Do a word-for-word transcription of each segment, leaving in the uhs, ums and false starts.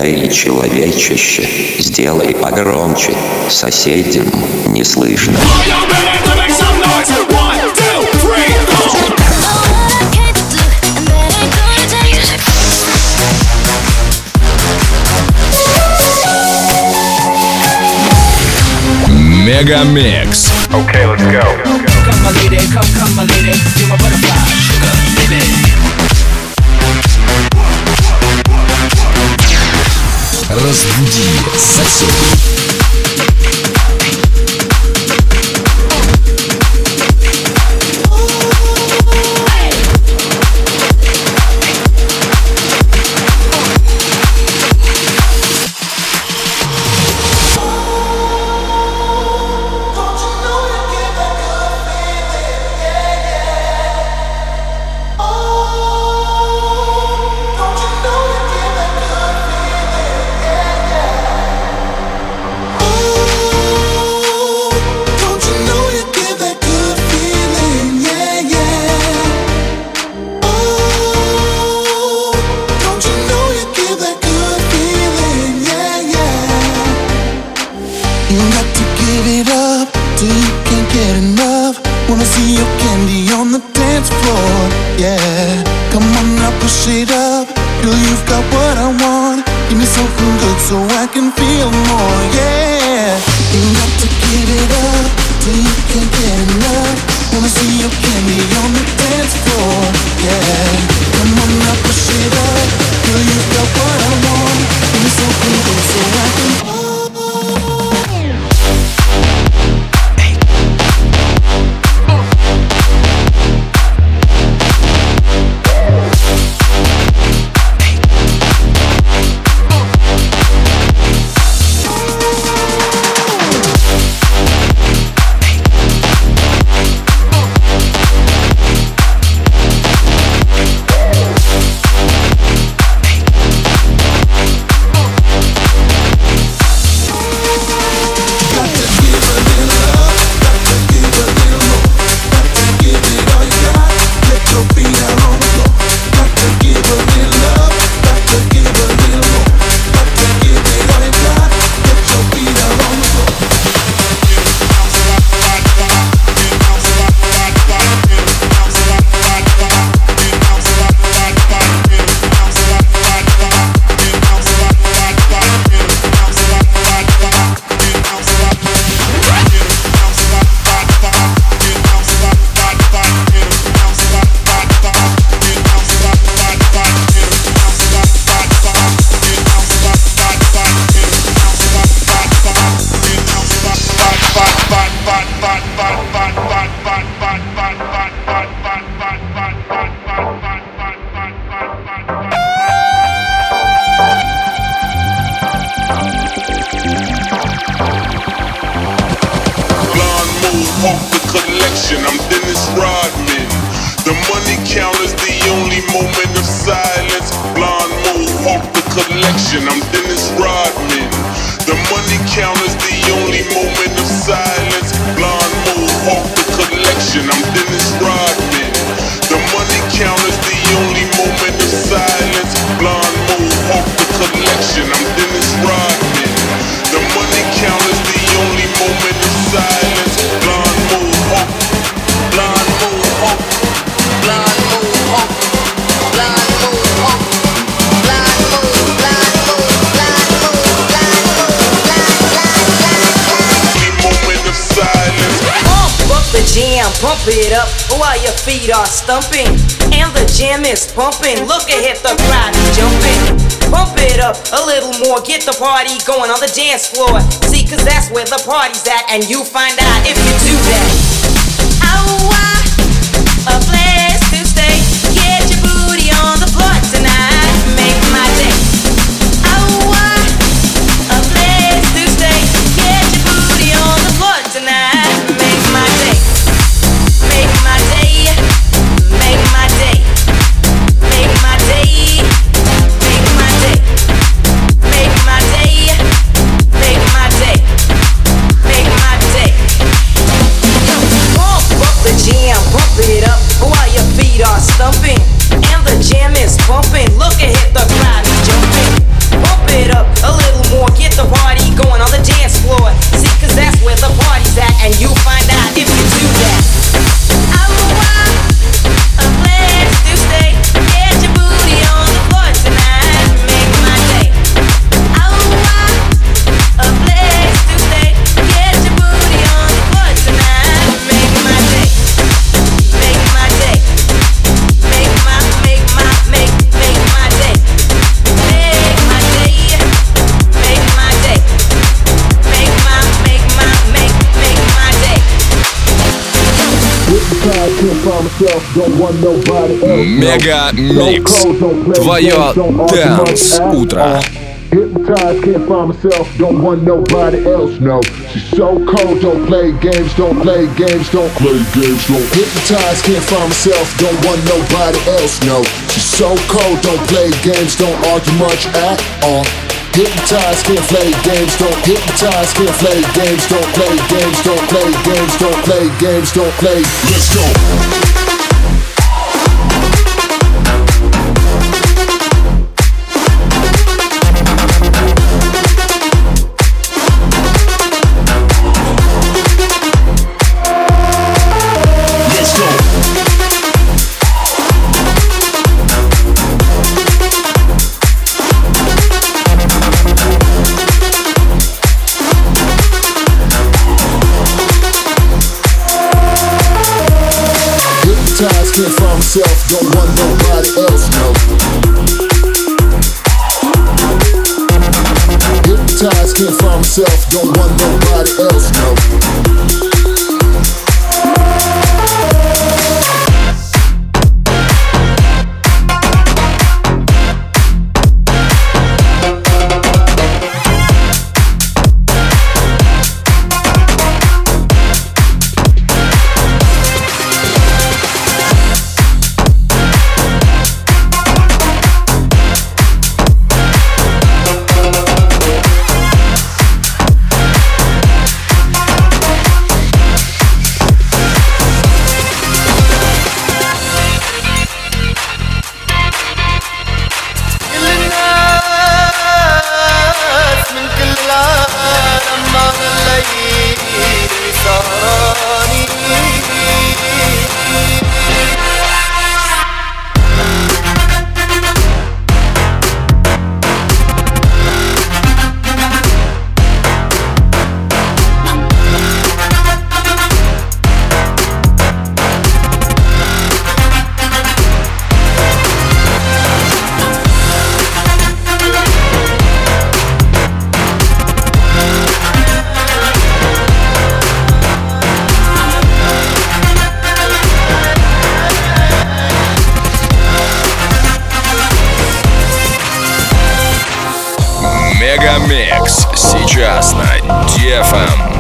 Эй, человечище, сделай погромче, соседям не слышно. Мегамикс. Okay, let's go. Come my lady, come, come my lady, you're my butterfly, sugar, baby. Разбуди соседей. Pump it up while your feet are stumping and the jam is pumping. Look ahead, the crowd is jumping. Pump it up a little more, get the party going on the dance floor. See, cause that's where the party's at, and you find out if you do that. Oh, I, a place to stay. Get your booty on the floor tonight. Make my day. Oh, I, a place to stay. Get your booty on the floor tonight. Make my day. Make my day, make my day, make my day, make my day, make my day, make my day, make my day. Pump up the jam, pump it up. you'll find out if you do that. I want a place to stay. Get your booty on the floor tonight. Make my day. I want a place to stay. Get your booty on the floor tonight. Make my day. Make my day. Make my, make my, make, make my day. Make my day. Make my day. Make my, make my, make, make my day. Мега Микс. Твое Dance утро. Hypnotized, can't find myself, don't want nobody else, no. She's so cold, don't play games, don't play games, don't play games, don't. Hypnotized, can't find myself, don't want nobody else, no. She's so cold, don't play games, don't argue much at all. Hypnotized, can't play games, don't. Hypnotized, can't play games, don't play games, don't play games, don't play games, don't play. Let's go. Can't find myself, don't want nobody else, no. Hypnotized, can't find myself, don't want nobody else, no. Мегамикс сейчас на ди эф эм.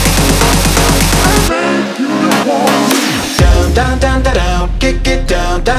down,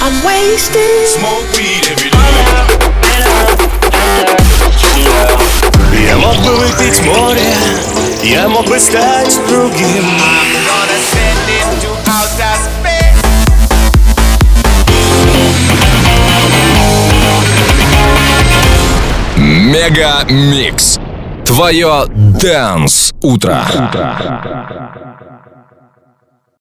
I'm wasted. Smoke weed every day. Я мог бы выпить море, я мог бы стать другим. Мега Микс. Твое Dance утро.